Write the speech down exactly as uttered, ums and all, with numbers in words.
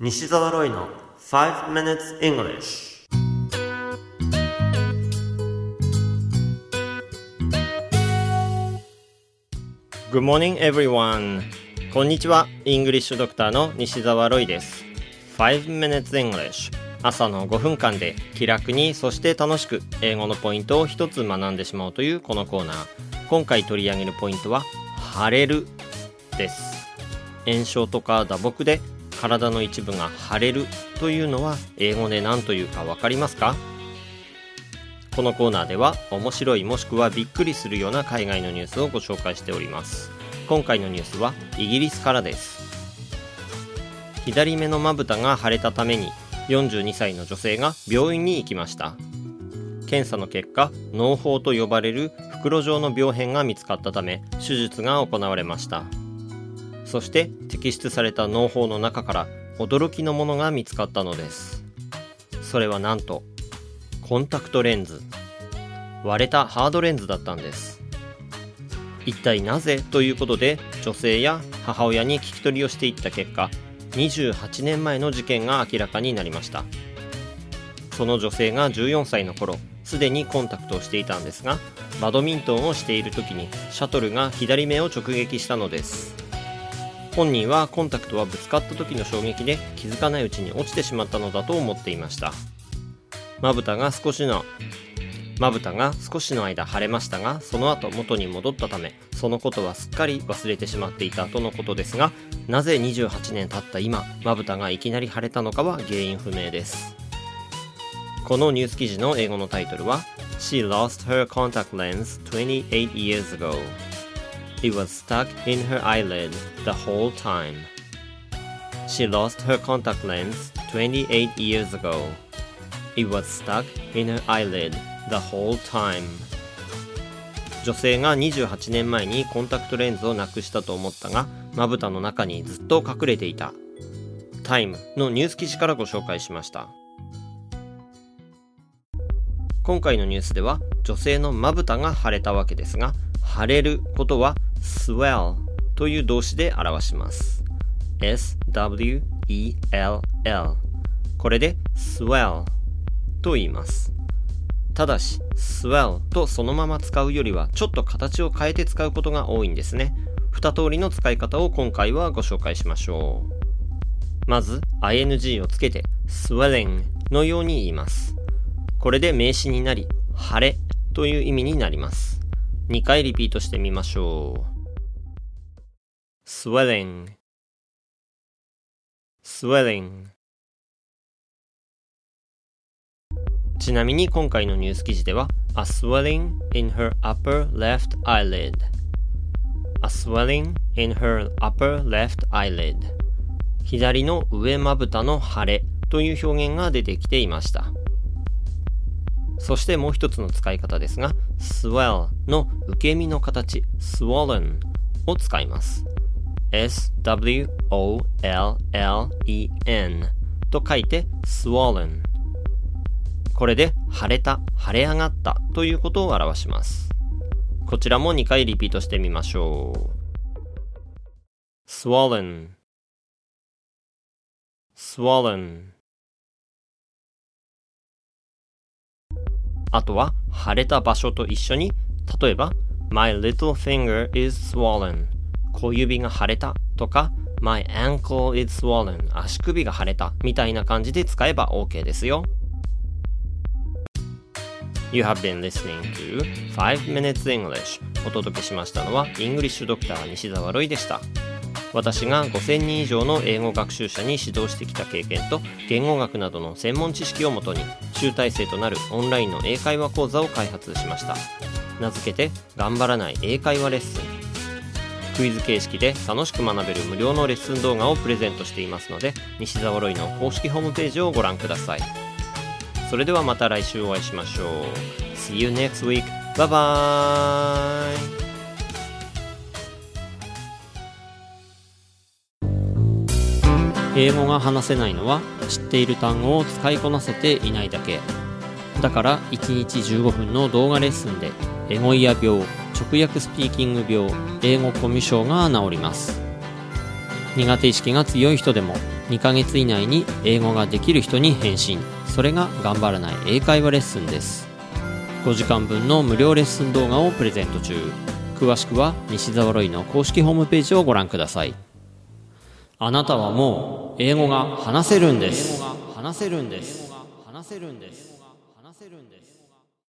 西澤ロイの five minutes English。 Good morning everyone。 こんにちは、イングリッシュドクターの西澤ロイです。 five minutes English、 朝のごふんかんで気楽にそして楽しく英語のポイントを一つ学んでしまおうというこのコーナー。今回取り上げるポイントは腫れるです。炎症とか打撲で体の一部が腫れるというのは英語で何というか分かりますか？このコーナーでは面白いもしくはびっくりするような海外のニュースをご紹介しております。今回のニュースはイギリスからです。左目のまぶたが腫れたためによんじゅうにさいの女性が病院に行きました。検査の結果、嚢胞と呼ばれる袋状の病変が見つかったため手術が行われました。そして摘出された嚢胞の中から驚きのものが見つかったのです。それはなんとコンタクトレンズ、割れたハードレンズだったんです。一体なぜということで女性や母親に聞き取りをしていった結果、にじゅうはちねんまえの事件が明らかになりました。その女性がじゅうよんさいの頃、すでにコンタクトをしていたんですが、バドミントンをしている時にシャトルが左目を直撃したのです。本人はコンタクトはぶつかった時の衝撃で気づかないうちに落ちてしまったのだと思っていました。まぶたが少しのまぶたが少しの間腫れましたが、その後元に戻ったためそのことはすっかり忘れてしまっていたとのことですが、なぜにじゅうはちねん経った今まぶたがいきなり腫れたのかは原因不明です。このニュース記事の英語のタイトルは She lost her contact lens twenty-eight years ago.It was stuck in her eyelid the whole time. She lost her contact lens twenty-eight years ago. It was stuck in her eyelid the whole time. 女性がにじゅうはちねんまえにコンタクトレンズをなくしたと思ったが、まぶたの中にずっと隠れていた。タイムのニュース記事からご紹介しました。今回のニュースでは女性のまぶたが腫れたわけですが、腫れることはswell という動詞で表します。 エスダブリューイーエルエル。 これで swell と言います。ただし swell とそのまま使うよりはちょっと形を変えて使うことが多いんですね。二通りの使い方を今回はご紹介しましょう。まず アイエヌジー をつけて swelling のように言います。これで名詞になり腫れという意味になります。にかいリピートしてみましょう。 swelling swelling。 ちなみに今回のニュース記事では A swelling in her upper left eyelid A swelling in her upper left eyelid。 左の上まぶたの腫れという表現が出てきていました。そしてもう一つの使い方ですが、swell の受け身の形 swollen を使います。 エスダブリューオーエルエルイーエヌ と書いて swollen。 これで腫れた、腫れ上がったということを表します。こちらもにかいリピートしてみましょう。 swollen swollen。あとは腫れた場所と一緒に、例えば My little finger is swollen、 小指が腫れたとか My ankle is swollen、 足首が腫れたみたいな感じで使えば OK ですよ。 You have been listening to five minutes English。 お届けしましたのはイングリッシュドクター西澤ロイでした。私がごせんにん以上の英語学習者に指導してきた経験と言語学などの専門知識をもとに集大成となるオンラインの英会話講座を開発しました。名付けて頑張らない英会話レッスン。クイズ形式で楽しく学べる無料のレッスン動画をプレゼントしていますので、西澤ロイの公式ホームページをご覧ください。それではまた来週お会いしましょう。 See you next week. Bye bye。英語が話せないのは知っている単語を使いこなせていないだけ。だからいちにちじゅうごふんの動画レッスンでエゴイヤ病、直訳スピーキング病、英語コミュ障が治ります。苦手意識が強い人でもにかげつ以内に英語ができる人に返信。それが頑張らない英会話レッスンです。ごじかんぶんの無料レッスン動画をプレゼント中。詳しくは西澤ロイの公式ホームページをご覧ください。あなたはもう英語が話せるんです。話せるんです。話せるんです。話せるんです。